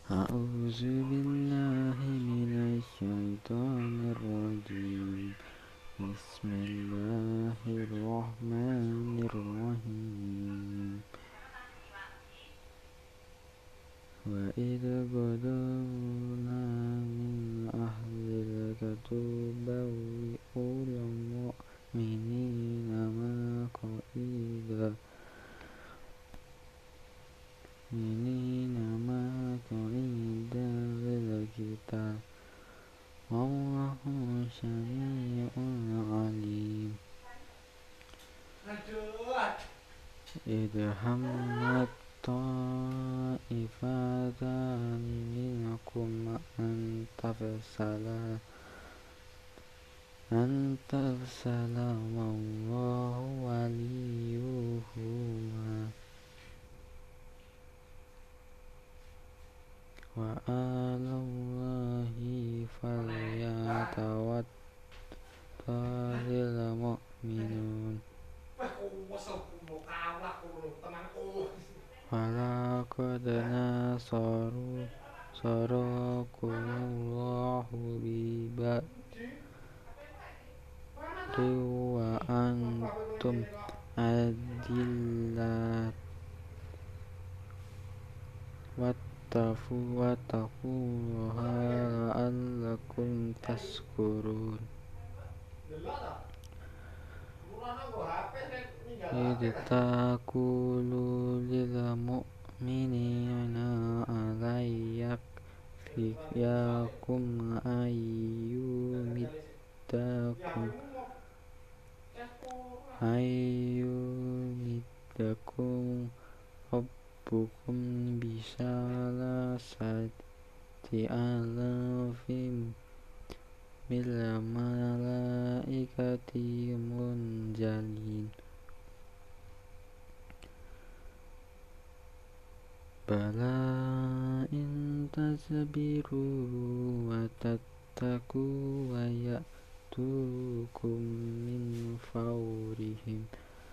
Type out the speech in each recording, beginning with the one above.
A'udzu billahi minasy syaithanir rajim. Bismillahirrahmanirrahim. Wa idh qadamna min ahlil katubawwi'ul mu'minina maq'ida lil qital. Wallahu sami'un alim. Idh hammat ta'ifatani minkum an tafsala wallahu waliyuhuma wa 'alallahi falyatawakkalul mu'minun. Walaqad nasarakumullahu bibadri wa antum adillat wattaqullaha la'allakum tashkurun. Idh taqulu lil mu'minina alayyak yakfiyakum ayyumiddakum rabbukum bisalasati alafim mil malaikati munzalin. Bala in tasbiru wa tattaqu wa ya'tukum min fawrihim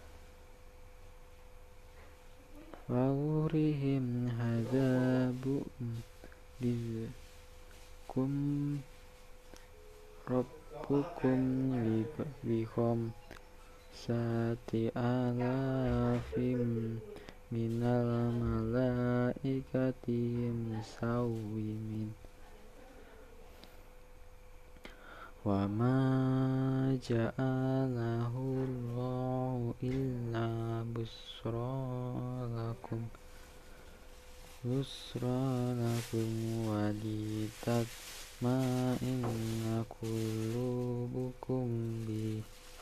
hadzabun bikum rabbukum bihom sati alafim minal malaikati musawwimin. Wa ma ja'alahu Allahu illa busra lakum wa litatma'inna qulubukum bi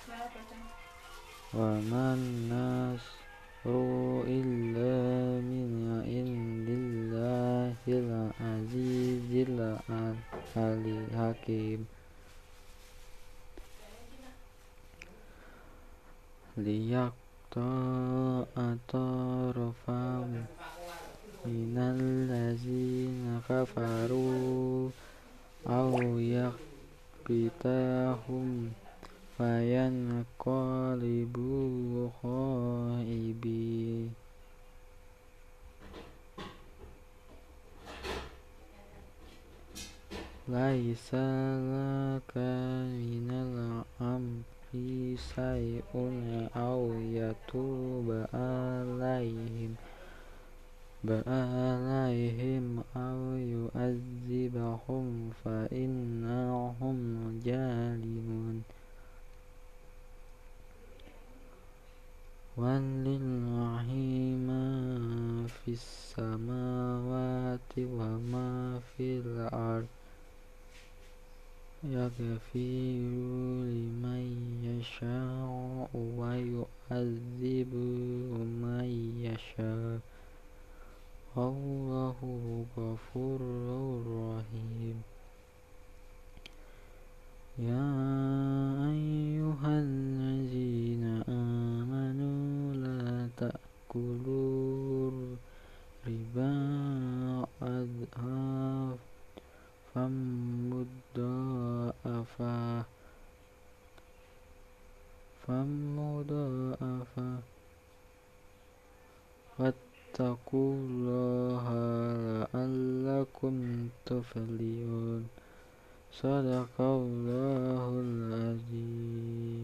wa man nasru illa min indillahil azizil hakim. Liyaqta'a tarafam minal ladzina kafaru aw yaqbitahum fayanqalibu khaibin. Laisa laka minal amri syai'un aw yatuba alaihim aw yu'adzibahum fa innahum zalimun. Walillahi ma fis samawati wa ma fil ard yaghfiru liman yasha'u wa yu'adzibu man yasha'u wallahu ghafurur rahim. Ya ayyuhallazina amanu la ta'kulur riba adhafan mudha'afa wattaqullaha la'allakum كنتم تفعلون صدق الله العظيم.